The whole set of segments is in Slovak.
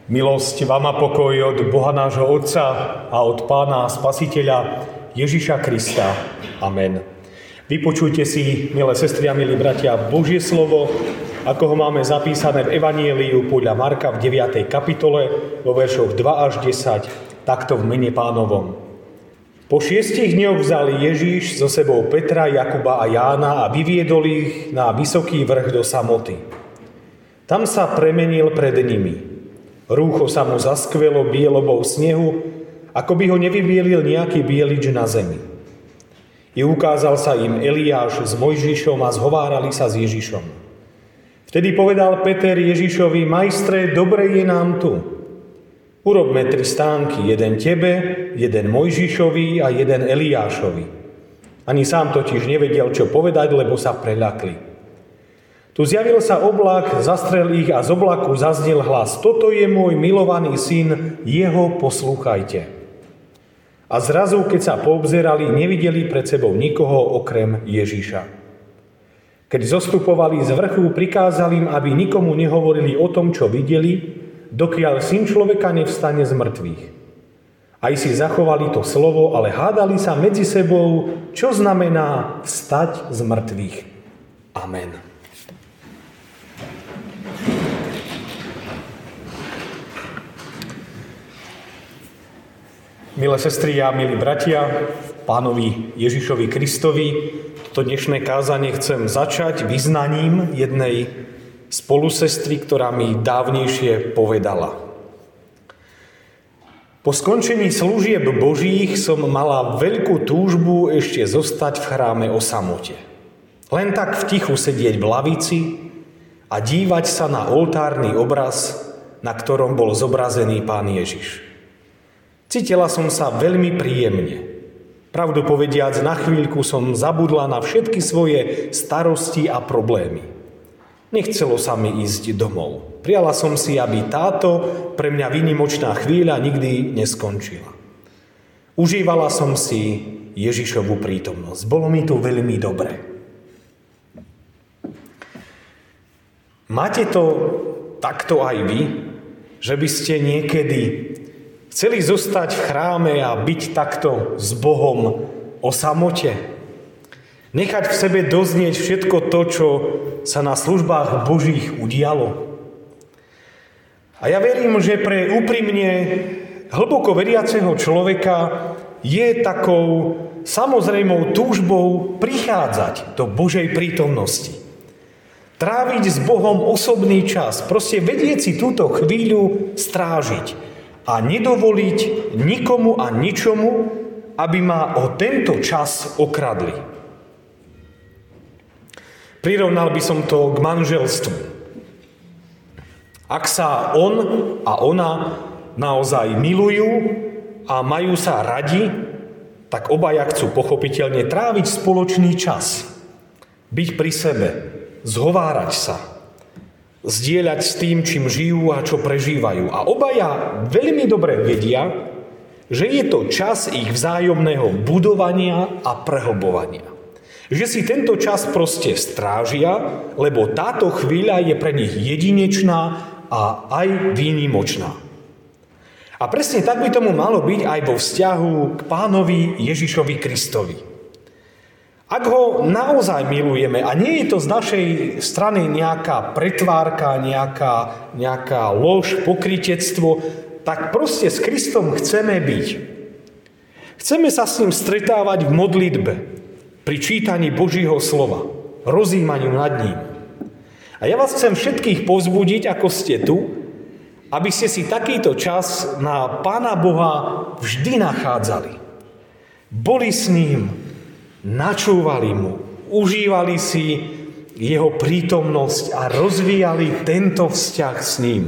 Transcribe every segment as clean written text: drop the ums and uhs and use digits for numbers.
Milosť vám a pokoj od Boha nášho Otca a od Pána a Spasiteľa Ježiša Krista. Amen. Vypočujte si, milé sestry a milí bratia, Božie slovo, ako ho máme zapísané v Evanjeliu podľa Marka v 9. kapitole vo veršoch 2 až 10, takto v mene Pánovom. Po 6 dňoch vzal Ježiš so sebou Petra, Jakuba a Jána a vyviedol ich na vysoký vrch do samoty. Tam sa premenil pred nimi. Rúcho sa mu zaskvelo bielobou snehu, ako by ho nevybielil nejaký bielič na zemi. I ukázal sa im Eliáš s Mojžišom a zhovárali sa s Ježišom. Vtedy povedal Peter Ježišovi: Majstre, dobre je nám tu. Urobme 3 stánky, jeden tebe, jeden Mojžišovi a jeden Eliášovi. Ani sám totiž nevedel, čo povedať, lebo sa preľakli. Tu zjavil sa oblak, zastrel ich a z oblaku zaznel hlas: Toto je môj milovaný syn, jeho poslúchajte. A zrazu, keď sa poobzerali, nevideli pred sebou nikoho okrem Ježiša. Keď zostupovali z vrchu, prikázal im, aby nikomu nehovorili o tom, čo videli, dokiaľ syn človeka nevstane z mŕtvych. Aj si zachovali to slovo, ale hádali sa medzi sebou, čo znamená vstať z mŕtvych. Amen. Milé sestry a milí bratia, Pánovi Ježišovi Kristovi, toto dnešné kázanie chcem začať vyznaním jednej spolusestry, ktorá mi dávnejšie povedala. Po skončení služieb Božích som mala veľkú túžbu ešte zostať v chráme o samote. Len tak v tichu sedieť v lavici a dívať sa na oltárny obraz, na ktorom bol zobrazený Pán Ježiš. Cítila som sa veľmi príjemne. Pravdu povediac, na chvíľku som zabudla na všetky svoje starosti a problémy. Nechcelo sa mi ísť domov. Prijala som si, aby táto pre mňa výnimočná chvíľa nikdy neskončila. Užívala som si Ježišovu prítomnosť. Bolo mi tu veľmi dobre. Máte to takto aj vy, že by ste niekedy chceli zostať v chráme a byť takto s Bohom o samote? Nechať v sebe doznieť všetko to, čo sa na službách Božích udialo? A ja verím, že pre úprimne hlboko veriaceho človeka je takou samozrejmou túžbou prichádzať do Božej prítomnosti. Tráviť s Bohom osobný čas, proste vedieť si túto chvíľu strážiť a nedovoliť nikomu a ničomu, aby ma o tento čas okradli. Prirovnal by som to k manželstvu. Ak sa on a ona naozaj milujú a majú sa radi, tak obaja chcú pochopiteľne tráviť spoločný čas. Byť pri sebe, zhovárať sa, zdieľať s tým, čím žijú a čo prežívajú. A obaja veľmi dobre vedia, že je to čas ich vzájomného budovania a prehlbovania. Že si tento čas proste strážia, lebo táto chvíľa je pre nich jedinečná a aj výnimočná. A presne tak by tomu malo byť aj vo vzťahu k Pánovi Ježišovi Kristovi. Ak ho naozaj milujeme a nie je to z našej strany nejaká pretvárka, nejaká lož, pokrytectvo, tak proste s Kristom chceme byť. Chceme sa s ním stretávať v modlitbe, pri čítaní Božího slova, rozjímaniu nad ním. A ja vás chcem všetkých povzbudiť, ako ste tu, aby ste si takýto čas na Pána Boha vždy nachádzali. Boli s ním, načúvali mu, užívali si jeho prítomnosť a rozvíjali tento vzťah s ním.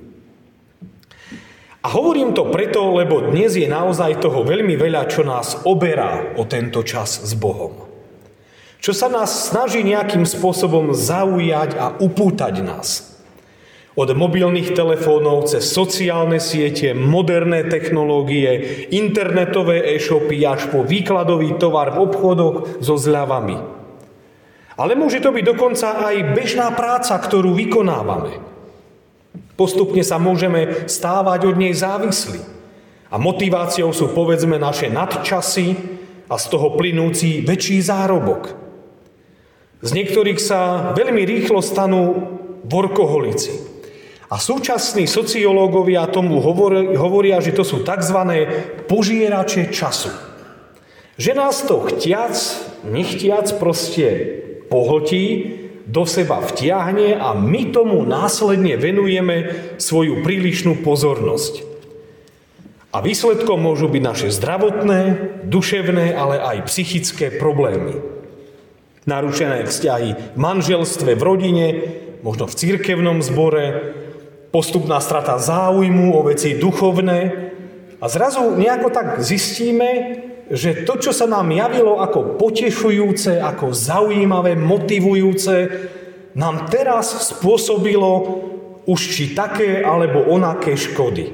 A hovorím to preto, lebo dnes je naozaj toho veľmi veľa, čo nás oberá o tento čas s Bohom. Čo sa nás snaží nejakým spôsobom zaujať a upútať nás. Od mobilných telefónov cez sociálne siete, moderné technológie, internetové e-shopy až po výkladový tovar v obchodoch so zľavami. Ale môže to byť dokonca aj bežná práca, ktorú vykonávame. Postupne sa môžeme stávať od nej závislí. A motiváciou sú, povedzme, naše nadčasy a z toho plynúci väčší zárobok. Z niektorých sa veľmi rýchlo stanú workoholici. A súčasní sociológovia tomu hovoria, že to sú tzv. Požierače času. Že nás to chtiac, nechtiac proste pohltí, do seba vtiahne a my tomu následne venujeme svoju prílišnú pozornosť. A výsledkom môžu byť naše zdravotné, duševné, ale aj psychické problémy. Narušené vzťahy v manželstve, v rodine, možno v cirkevnom zbore, postupná strata záujmu o veci duchovné a zrazu nejako tak zistíme, že to, čo sa nám javilo ako potešujúce, ako zaujímavé, motivujúce, nám teraz spôsobilo už či také alebo onaké škody.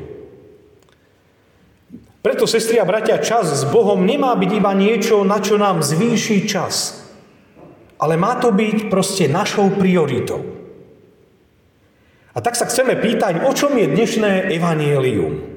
Preto, sestri a bratia, čas s Bohom nemá byť iba niečo, na čo nám zvýši čas, ale má to byť proste našou prioritou. A tak sa chceme pýtať, o čom je dnešné evanjelium.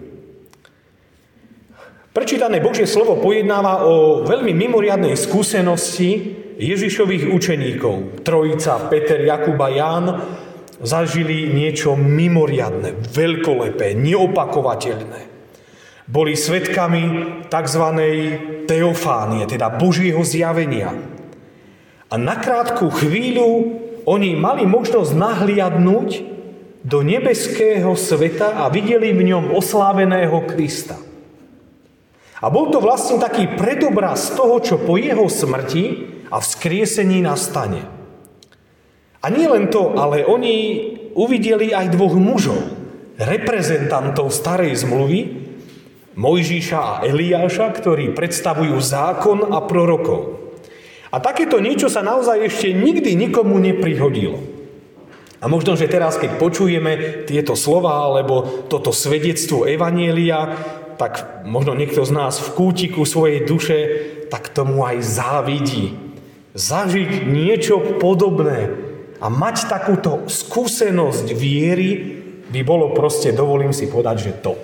Prečítané Božie slovo pojednáva o veľmi mimoriadnej skúsenosti Ježišových učeníkov. Trojica, Peter, Jakub a Ján zažili niečo mimoriadne, veľkolepé, neopakovateľné. Boli svedkami tzv. Teofánie, teda Božieho zjavenia. A na krátku chvíľu oni mali možnosť nahliadnúť do nebeského sveta a videli v ňom osláveného Krista. A bol to vlastne taký predobraz toho, čo po jeho smrti a vzkriesení nastane. A nie len to, ale oni uvideli aj dvoch mužov, reprezentantov starej zmluvy, Mojžiša a Eliáša, ktorí predstavujú zákon a prorokov. A takéto niečo sa naozaj ešte nikdy nikomu neprihodilo. A možno, že teraz, keď počujeme tieto slová alebo toto svedectvo evanjelia, tak možno niekto z nás v kútiku svojej duše tak tomu aj závidí. Zažiť niečo podobné a mať takúto skúsenosť viery by bolo proste, dovolím si povedať, že top.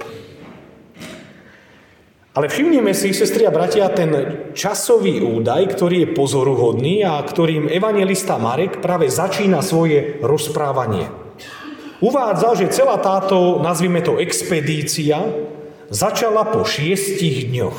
Ale všimnime si, sestri a bratia, ten časový údaj, ktorý je pozoruhodný a ktorým evanjelista Marek práve začína svoje rozprávanie. Uvádza, že celá táto, nazvime to, expedícia začala po 6 dňoch.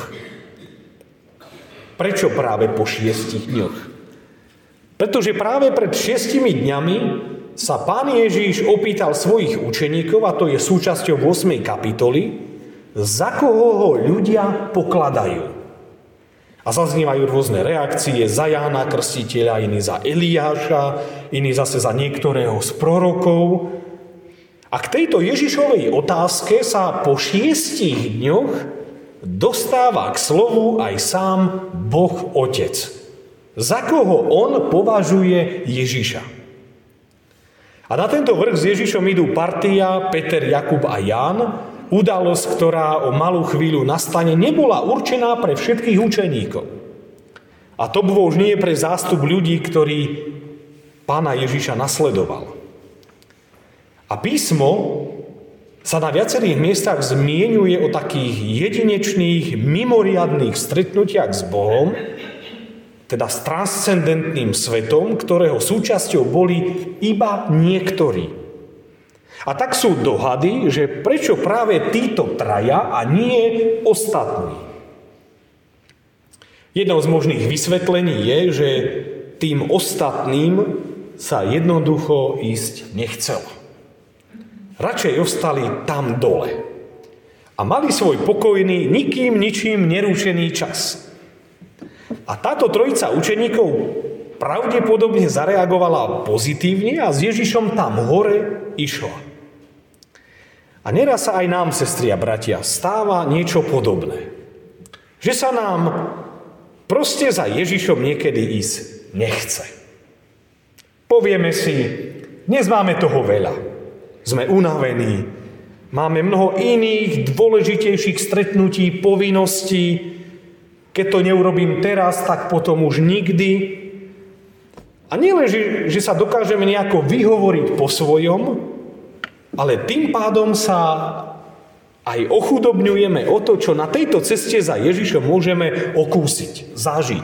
Prečo práve po 6 dňoch? Pretože práve pred 6 dňami sa Pán Ježiš opýtal svojich učeníkov, a to je súčasťou 8. kapitoly, za koho ho ľudia pokladajú. A zaznievajú rôzne reakcie, za Jána Krstiteľa, iní za Eliáša, iní zase za niektorého z prorokov. A k tejto Ježišovej otázke sa po 6 dňoch dostáva k slovu aj sám Boh Otec. Za koho on považuje Ježiša. A na tento vrch s Ježišom idú partia Peter, Jakub a Ján. Udalosť, ktorá o malú chvíľu nastane, nebola určená pre všetkých učeníkov. A to už nie je pre zástup ľudí, ktorí Pána Ježiša nasledoval. A písmo sa na viacerých miestach zmieňuje o takých jedinečných, mimoriadnych stretnutiach s Bohom, teda s transcendentným svetom, ktorého súčasťou boli iba niektorí. A tak sú dohady, že prečo práve títo traja a nie ostatní. Jednou z možných vysvetlení je, že tým ostatným sa jednoducho ísť nechcelo. Radšej ostali tam dole. A mali svoj pokojný, nikým ničím nerušený čas. A táto trojica učeníkov pravdepodobne zareagovala pozitívne a s Ježišom tam hore išla. A neraz sa aj nám, sestri a bratia, stáva niečo podobné. Že sa nám proste za Ježišom niekedy ísť nechce. Povieme si, dnes máme toho veľa. Sme unavení. Máme mnoho iných dôležitejších stretnutí, povinností. Keď to neurobím teraz, tak potom už nikdy. A nielen, že sa dokážeme nejako vyhovoriť po svojom, ale tým pádom sa aj ochudobňujeme o to, čo na tejto ceste za Ježišom môžeme okúsiť, zažiť.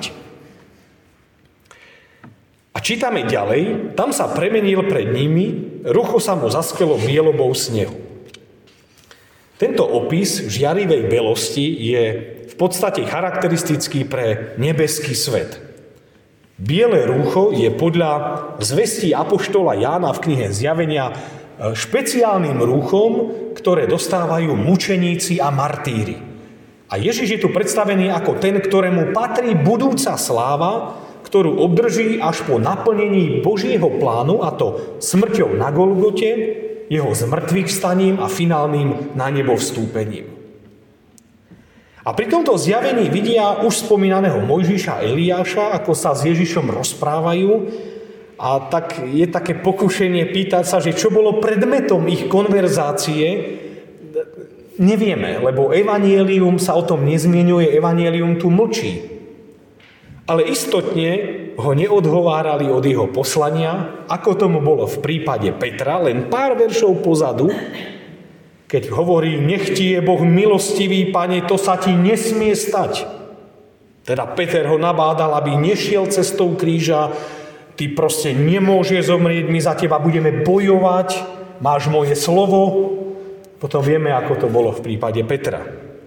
A čítame ďalej, tam sa premenil pred nimi, rucho sa mu zaskvelo bielobou snehu. Tento opis žiarivej belosti je v podstate charakteristický pre nebeský svet. Biele rúcho je podľa zvestí apoštola Jána v knihe Zjavenia špeciálnym rúchom, ktoré dostávajú mučeníci a martíri. A Ježiš je tu predstavený ako ten, ktorému patrí budúca sláva, ktorú obdrží až po naplnení Božieho plánu, a to smrťou na Golgote, jeho zmrtvých vstaním a finálnym na nebo vstúpením. A pri tomto zjavení vidia už spomínaného Mojžiša a Eliáša, ako sa s Ježišom rozprávajú, a tak je také pokušenie pýtať sa, že čo bolo predmetom ich konverzácie. Nevieme, lebo evanjelium sa o tom nezmienuje, evanjelium tu mlčí. Ale istotne ho neodhovárali od jeho poslania, ako tomu bolo v prípade Petra, len pár veršov pozadu, keď hovorí, nech ti je Boh milostivý, Pane, to sa ti nesmie stať. Teda Peter ho nabádal, aby nešiel cestou kríža, ty proste nemôžeš zomrieť, my za teba budeme bojovať, máš moje slovo. Potom vieme, ako to bolo v prípade Petra.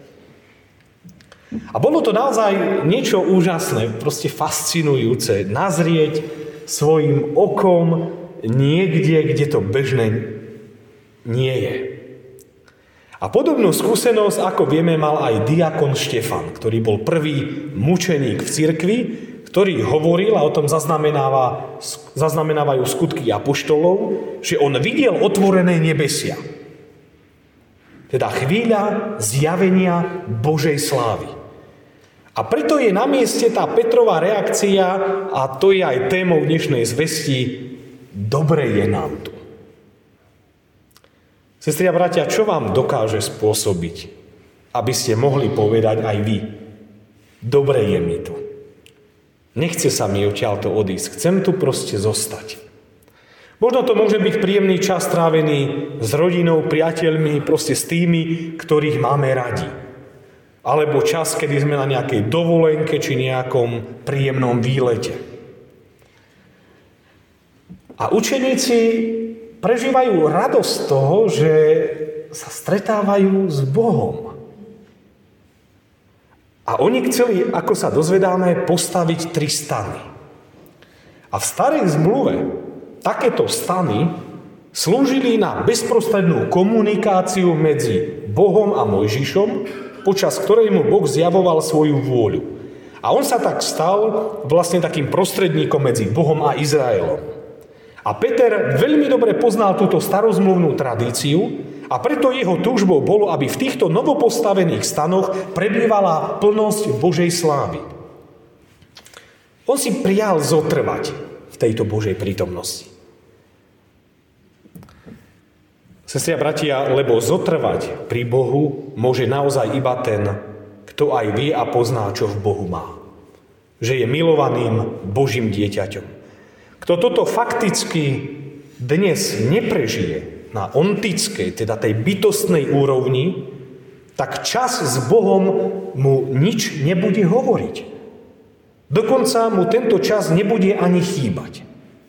A bolo to naozaj niečo úžasné, proste fascinujúce, nazrieť svojim okom niekde, kde to bežné nie je. A podobnú skúsenosť, ako vieme, mal aj diakon Štefan, ktorý bol prvý mučeník v cirkvi, ktorý hovoril, a o tom zaznamenávajú skutky apoštolov, že on videl otvorené nebesia. Teda chvíľa zjavenia Božej slávy. A preto je na mieste tá Petrova reakcia, a to je aj témou dnešnej zvesti, dobre je nám tu. Sestri a bratia, čo vám dokáže spôsobiť, aby ste mohli povedať aj vy, dobre je mi tu. Nechce sa mi odtiaľto odísť, chcem tu proste zostať. Možno to môže byť príjemný čas strávený s rodinou, priateľmi, proste s tými, ktorých máme radi. Alebo čas, kedy sme na nejakej dovolenke či nejakom príjemnom výlete. A učeníci prežívajú radosť z toho, že sa stretávajú s Bohom. A oni chceli, ako sa dozvedáme, postaviť 3 stany. A v starej zmluve takéto stany slúžili na bezprostrednú komunikáciu medzi Bohom a Mojžišom, počas ktorej mu Boh zjavoval svoju vôľu. A on sa tak stal vlastne takým prostredníkom medzi Bohom a Izraelom. A Peter veľmi dobre poznal túto starozmluvnú tradíciu, a preto jeho túžbou bolo, aby v týchto novopostavených stanoch prebývala plnosť Božej slávy. On si prial zotrvať v tejto Božej prítomnosti. Sestri a bratia, lebo zotrvať pri Bohu môže naozaj iba ten, kto aj vie a pozná, čo v Bohu má. Že je milovaným Božím dieťaťom. Kto toto fakticky dnes neprežije, na ontickej, teda tej bytostnej úrovni, tak čas s Bohom mu nič nebude hovoriť. Dokonca mu tento čas nebude ani chýbať.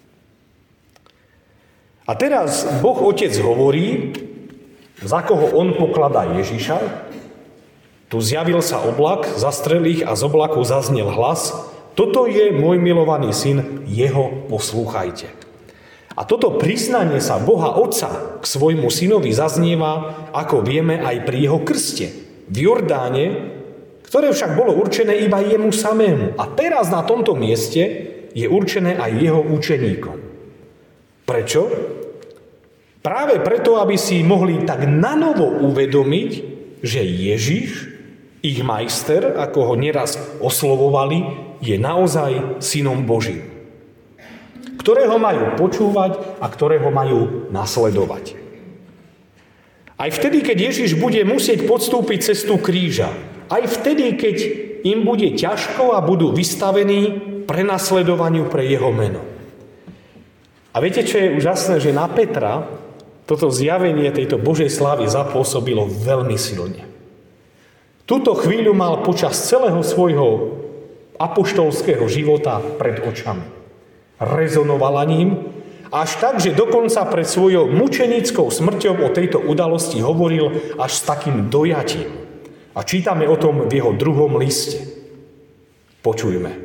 A teraz Boh Otec hovorí, za koho on pokladá Ježiša. Tu zjavil sa oblak, zastrel ich a z oblaku zaznel hlas: Toto je môj milovaný syn, jeho poslúchajte. A toto priznanie sa Boha Otca k svojmu synovi zaznieva, ako vieme, aj pri jeho krste v Jordáne, ktoré však bolo určené iba jemu samému. A teraz na tomto mieste je určené aj jeho učeníkom. Prečo? Práve preto, aby si mohli tak nanovo uvedomiť, že Ježiš, ich majster, ako ho neraz oslovovali, je naozaj synom Božím, ktorého majú počúvať a ktorého majú nasledovať. Aj vtedy, keď Ježiš bude musieť podstúpiť cestu kríža, aj vtedy, keď im bude ťažko a budú vystavení prenasledovaniu pre jeho meno. A viete, čo je úžasné, že na Petra toto zjavenie tejto Božej slávy zapôsobilo veľmi silne. Túto chvíľu mal počas celého svojho apoštolského života pred očami. Rezonovala ním až tak, že dokonca pred svojou mučenickou smrťou o tejto udalosti hovoril až s takým dojatím. A čítame o tom v jeho 2. liste. Počujme.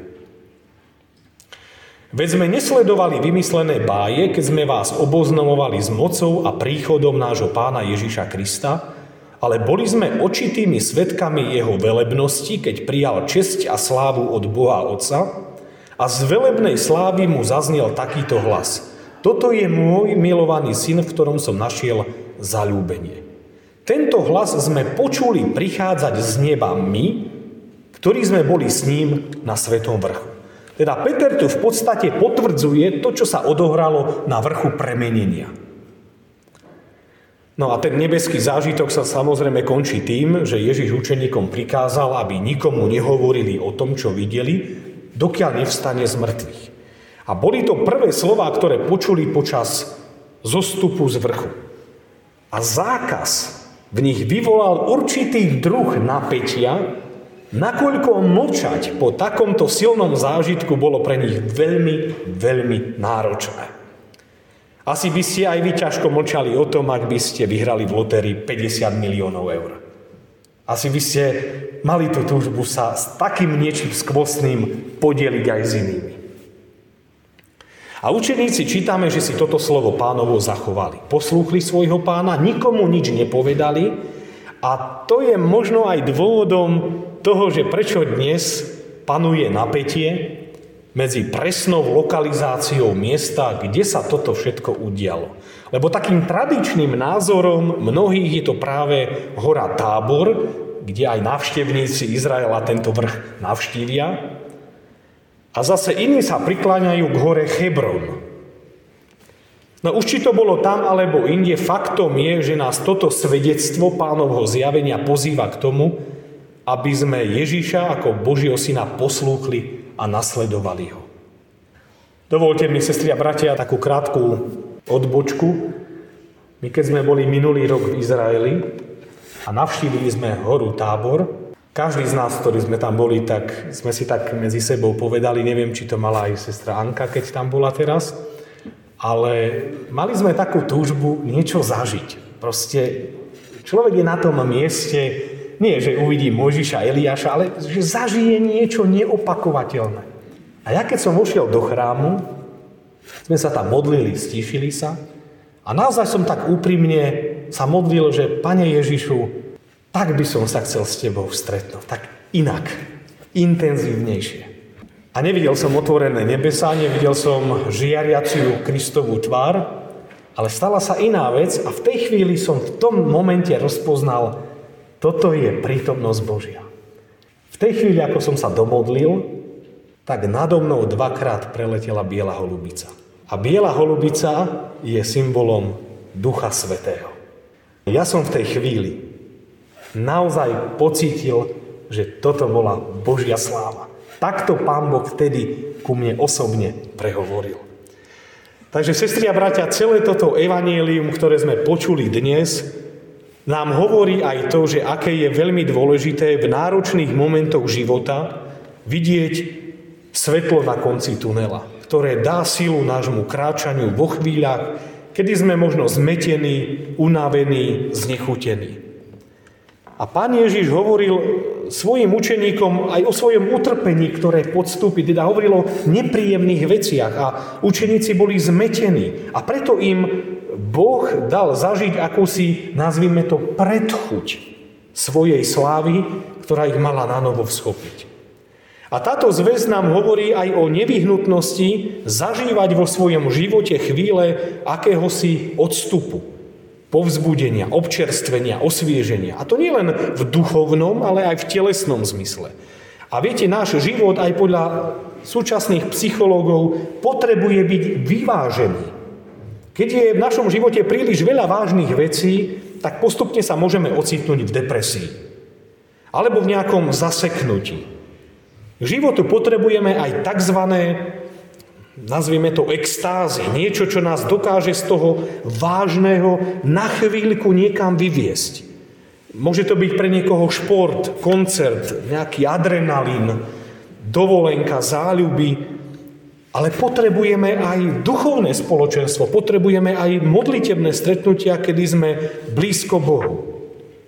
Veď sme nesledovali vymyslené báje, keď sme vás oboznamovali s mocou a príchodom nášho Pána Ježiša Krista, ale boli sme očitými svedkami jeho velebnosti, keď prijal česť a slávu od Boha Otca a z velebnej slávy mu zaznel takýto hlas. Toto je môj milovaný syn, v ktorom som našiel zaľúbenie. Tento hlas sme počuli prichádzať z neba my, ktorí sme boli s ním na Svetom vrchu. Teda Peter tu v podstate potvrdzuje to, čo sa odohralo na vrchu premenenia. No a ten nebeský zážitok sa samozrejme končí tým, že Ježiš učeníkom prikázal, aby nikomu nehovorili o tom, čo videli, dokiaľ nevstane z mŕtvych. A boli to prvé slová, ktoré počuli počas zostupu z vrchu. A zákaz v nich vyvolal určitý druh napätia, nakoľko mlčať po takomto silnom zážitku bolo pre nich veľmi, veľmi náročné. Asi by ste aj vy ťažko mlčali o tom, ak by ste vyhrali v lotérii 50 miliónov eur. Asi by ste mali tú túžbu sa s takým niečím skvostným podeliť aj s inými. A učeníci čítame, že si toto slovo Pánovo zachovali. Poslúchli svojho Pána, nikomu nič nepovedali a to je možno aj dôvodom toho, že prečo dnes panuje napätie medzi presnou lokalizáciou miesta, kde sa toto všetko udialo. Lebo takým tradičným názorom mnohých je to práve hora Tábor, kde aj návštevníci Izraela tento vrch navštívia. A zase iní sa prikláňajú k hore Hebron. No už či to bolo tam alebo inde, faktom je, že nás toto svedectvo Pánovho zjavenia pozýva k tomu, aby sme Ježiša ako Božieho syna poslúchli a nasledovali ho. Dovoľte mi, sestri a bratia, takú krátku odbočku. My keď sme boli minulý rok v Izraeli a navštívili sme horu Tábor, každý z nás, ktorí sme tam boli, tak sme si tak medzi sebou povedali, neviem, či to mala aj sestra Anka, keď tam bola teraz, ale mali sme takú túžbu niečo zažiť. Proste človek je na tom mieste, nie, že uvidí Mojžiša, Eliáša, ale že zažije niečo neopakovateľné. A ja keď som vošiel do chrámu, sme sa tam modlili, stíšili sa a naozaj som tak úprimne sa modlil, že Pane Ježišu, tak by som sa chcel s Tebou stretnúť. Tak inak, intenzívnejšie. A nevidel som otvorené nebesá, nevidel som žiariaciu Kristovú tvár, ale stala sa iná vec a v tej chvíli som v tom momente rozpoznal, toto je prítomnosť Božia. V tej chvíli, ako som sa domodlil, tak nado mnou 2-krát preletela biela holubica. A biela holubica je symbolom Ducha Svätého. Ja som v tej chvíli naozaj pocítil, že toto bola Božia sláva. Takto Pán Boh vtedy ku mne osobne prehovoril. Takže, sestri a bratia, celé toto evanjelium, ktoré sme počuli dnes, nám hovorí aj to, že aké je veľmi dôležité v náročných momentoch života vidieť svetlo na konci tunela, ktoré dá silu nášmu kráčaniu vo chvíľach, kedy sme možno zmetení, unavení, znechutení. A Pán Ježiš hovoril svojim učeníkom aj o svojom utrpení, ktoré podstúpi, teda hovoril o nepríjemných veciach a učeníci boli zmetení. A preto im Boh dal zažiť akúsi, nazvime to, predchuť svojej slávy, ktorá ich mala nanovo vschopiť. A táto zvesť nám hovorí aj o nevyhnutnosti zažívať vo svojom živote chvíle akéhosi odstupu, povzbudenia, občerstvenia, osvieženia. A to nie len v duchovnom, ale aj v telesnom zmysle. A viete, náš život aj podľa súčasných psychológov potrebuje byť vyvážený. Keď je v našom živote príliš veľa vážnych vecí, tak postupne sa môžeme ocitnúť v depresii. Alebo v nejakom zaseknutí. K životu potrebujeme aj tzv. nazvieme to extázy, niečo, čo nás dokáže z toho vážneho na chvíľku niekam vyviesť. Môže to byť pre niekoho šport, koncert, nejaký adrenalín, dovolenka, záľuby, ale potrebujeme aj duchovné spoločenstvo, potrebujeme aj modlitebné stretnutia, kedy sme blízko Bohu.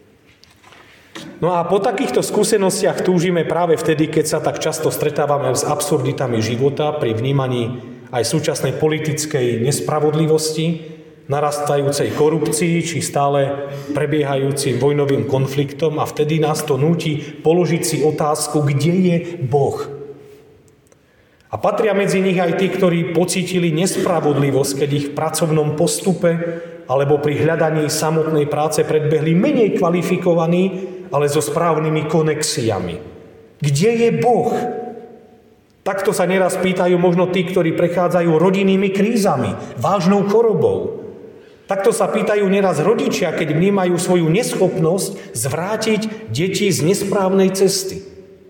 No a po takýchto skúsenostiach túžime práve vtedy, keď sa tak často stretávame s absurditami života pri vnímaní aj súčasnej politickej nespravodlivosti, narastajúcej korupcii či stále prebiehajúcim vojnovým konfliktom a vtedy nás to núti položiť si otázku, kde je Boh. A patria medzi nich aj tí, ktorí pocítili nespravodlivosť, keď ich v pracovnom postupe alebo pri hľadaní samotnej práce predbehli menej kvalifikovaní, ale so správnymi konexiami. Kde je Boh? Takto sa neraz pýtajú možno tí, ktorí prechádzajú rodinnými krízami, vážnou chorobou. Takto sa pýtajú neraz rodičia, keď vnímajú svoju neschopnosť zvrátiť deti z nesprávnej cesty.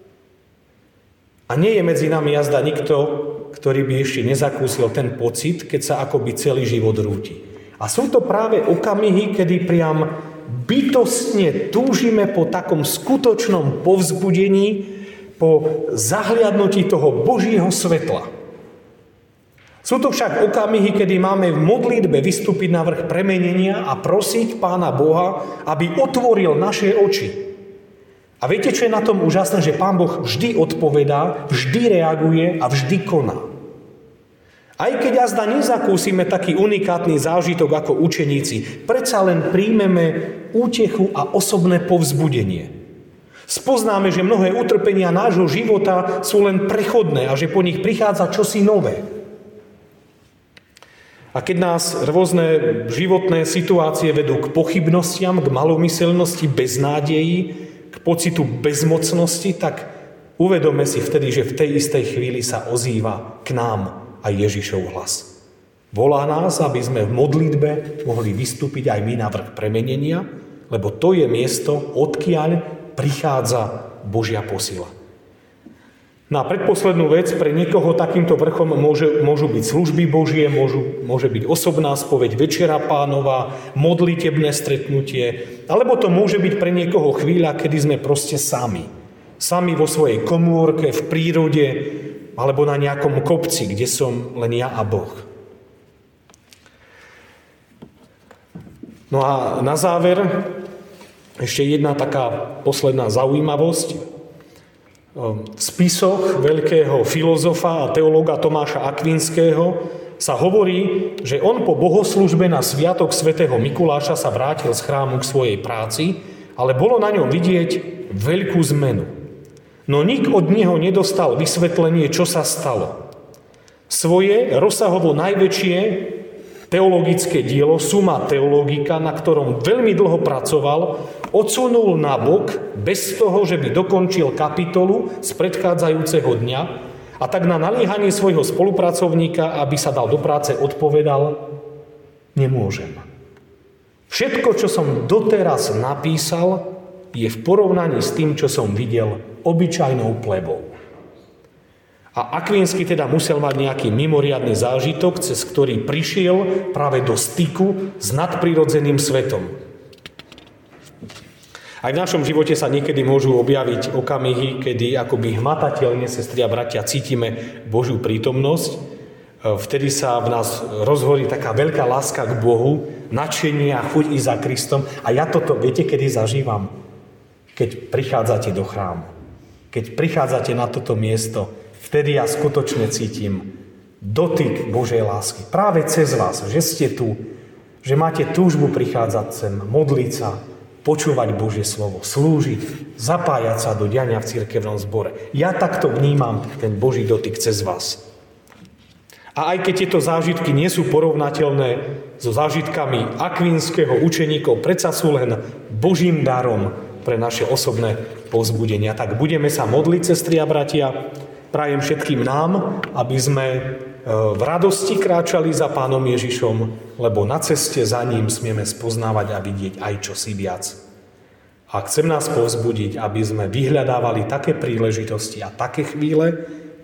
A nie je medzi nami jazda nikto, ktorý by ešte nezakúsil ten pocit, keď sa akoby celý život rúti. A sú to práve okamihy, kedy priam bytostne túžime po takom skutočnom povzbudení, po zahliadnutí toho Božieho svetla. Sú to však okamihy, kedy máme v modlitbe vystúpiť na vrch premenenia a prosiť Pána Boha, aby otvoril naše oči. A viete, čo je na tom úžasné? Že Pán Boh vždy odpovedá, vždy reaguje a vždy koná. Aj keď azda nezakúsime taký unikátny zážitok ako učeníci, predsa len príjmeme útechu a osobné povzbudenie. Spoznáme, že mnohé utrpenia nášho života sú len prechodné a že po nich prichádza čosi nové. A keď nás rôzne životné situácie vedú k pochybnostiam, k malomyselnosti, beznádeji, k pocitu bezmocnosti, tak uvedome si vtedy, že v tej istej chvíli sa ozýva k nám aj Ježišov hlas. Volá nás, aby sme v modlitbe mohli vystúpiť aj my na vrch premenenia, lebo to je miesto, odkiaľ prichádza Božia posila. Na predposlednú vec, pre niekoho takýmto vrchom môžu byť služby Božie, môže byť osobná spoveď, Večera Pánova, modlitebné stretnutie, alebo to môže byť pre niekoho chvíľa, kedy sme proste sami. Sami vo svojej komórke, v prírode, alebo na nejakom kopci, kde som len ja a Boh. No a na záver ešte jedna taká posledná zaujímavosť. V spisoch veľkého filozofa a teológa Tomáša Akvinského sa hovorí, že on po bohoslužbe na sviatok svätého Mikuláša sa vrátil z chrámu k svojej práci, ale bolo na ňom vidieť veľkú zmenu. No nik od neho nedostal vysvetlenie, čo sa stalo. Svoje rozsahovo najväčšie teologické dielo Summa Theologica, na ktorom veľmi dlho pracoval, odsunul na bok bez toho, že by dokončil kapitolu z predchádzajúceho dňa a tak na naliehanie svojho spolupracovníka, aby sa dal do práce, odpovedal: nemôžem. Všetko, čo som doteraz napísal, je v porovnaní s tým, čo som videl obyčajnou plebou. A Akvinsky teda musel mať nejaký mimoriadny zážitok, cez ktorý prišiel práve do styku s nadprirodzeným svetom. Aj v našom živote sa niekedy môžu objaviť okamihy, kedy akoby hmatateľne, sestri a bratia, cítime Božiu prítomnosť. Vtedy sa v nás rozhorí taká veľká láska k Bohu, nadšenie a chuť ísť za Kristom. A ja toto, viete, kedy zažívam? Keď prichádzate do chrámu. Keď prichádzate na toto miesto, vtedy ja skutočne cítim dotyk Božej lásky. Práve cez vás, že ste tu, že máte túžbu prichádzať sem, modliť sa, počúvať Božie slovo, slúžiť, zapájať sa do diania v cirkevnom zbore. Ja takto vnímam ten Boží dotyk cez vás. A aj keď tieto zážitky nie sú porovnateľné so zážitkami akvinského učeníkov, predsa sú len Božím darom pre naše osobné povzbudenia. Tak budeme sa modliť, sestri a bratia. Prajem všetkým nám, aby sme v radosti kráčali za Pánom Ježišom, lebo na ceste za ním smieme spoznávať a vidieť aj čosi viac. A chcem nás povzbudiť, aby sme vyhľadávali také príležitosti a také chvíle,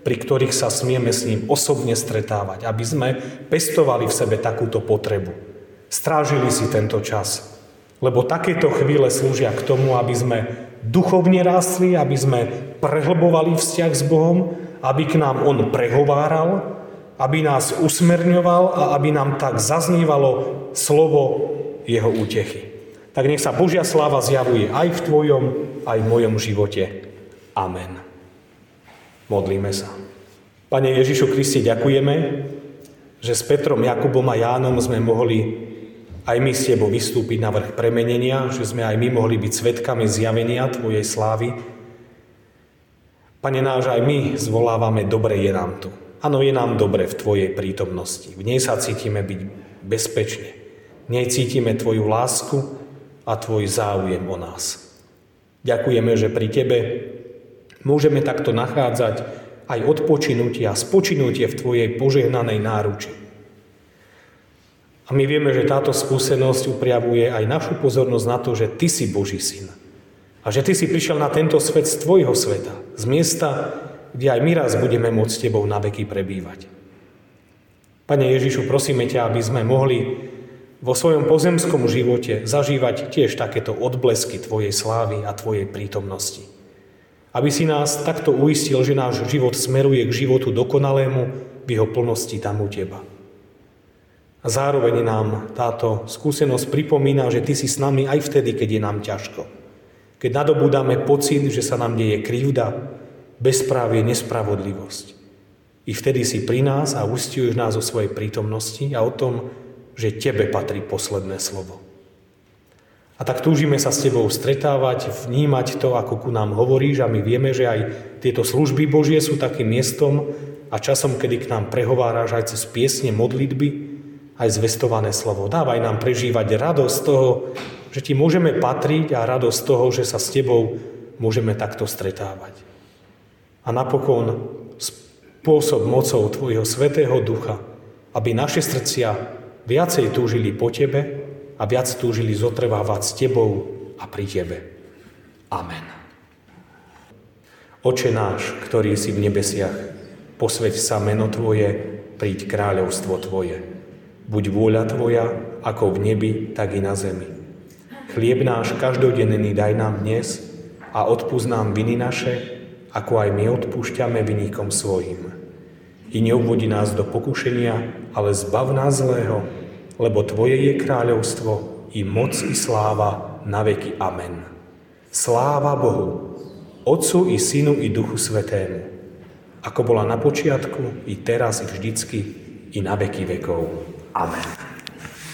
pri ktorých sa smieme s ním osobne stretávať, aby sme pestovali v sebe takúto potrebu. Strážili si tento čas, lebo takéto chvíle slúžia k tomu, aby sme duchovne rástli, aby sme prehlbovali vzťah s Bohom, aby k nám on prehováral, aby nás usmerňoval a aby nám tak zaznívalo slovo jeho útechy. Tak nech sa Božia sláva zjavuje aj v tvojom, aj v mojom živote. Amen. Modlíme sa. Pane Ježišu Kriste, ďakujeme, že s Petrom, Jakubom a Jánom sme mohli aj my s tebou vystúpiť na vrch premenenia, že sme aj my mohli byť svedkami zjavenia tvojej slávy. Pane náš, aj my zvolávame, dobre je nám tu. Áno, je nám dobre v tvojej prítomnosti. V nej sa cítime byť bezpečne. V nej cítime tvoju lásku a tvoj záujem o nás. Ďakujeme, že pri tebe môžeme takto nachádzať aj odpočinutie a spočinutie v tvojej požehnanej náruči. A my vieme, že táto skúsenosť upriavuje aj našu pozornosť na to, že ty si Boží syn. A že ty si prišiel na tento svet z tvojho sveta, z miesta, kde aj my raz budeme môcť s tebou na veky prebývať. Pane Ježišu, prosíme ťa, aby sme mohli vo svojom pozemskom živote zažívať tiež takéto odblesky tvojej slávy a tvojej prítomnosti. Aby si nás takto uistil, že náš život smeruje k životu dokonalému v jeho plnosti tam u teba. A zároveň nám táto skúsenosť pripomína, že ty si s nami aj vtedy, keď je nám ťažko. Keď nadobúdame pocit, že sa nám deje krivda, bezprávie, nespravodlivosť. I vtedy si pri nás a uisťuješ nás o svojej prítomnosti a o tom, že tebe patrí posledné slovo. A tak túžime sa s tebou stretávať, vnímať to, ako ku nám hovoríš, a my vieme, že aj tieto služby Božie sú takým miestom a časom, kedy k nám prehováraš aj cez piesne, modlitby, aj zvestované slovo. Dávaj nám prežívať radosť toho, že ti môžeme patriť, a radosť toho, že sa s tebou môžeme takto stretávať. A napokon spôsob mocou tvojho Svätého Ducha, aby naše srdcia viacej túžili po tebe a viac túžili zotrvávať s tebou a pri tebe. Amen. Oče náš, ktorý si v nebesiach, posväť sa meno tvoje, príď kráľovstvo tvoje. Buď vôľa tvoja, ako v nebi, tak i na zemi. Chlieb náš každodenný daj nám dnes a odpusť nám viny naše, ako aj my odpúšťame viníkom svojim. I neuvodi nás do pokušenia, ale zbav nás zlého, lebo tvoje je kráľovstvo, i moc, i sláva, na veky. Amen. Sláva Bohu, Otcu i Synu i Duchu Svätému, ako bola na počiatku, i teraz, i vždycky, i na veky vekov. Amen.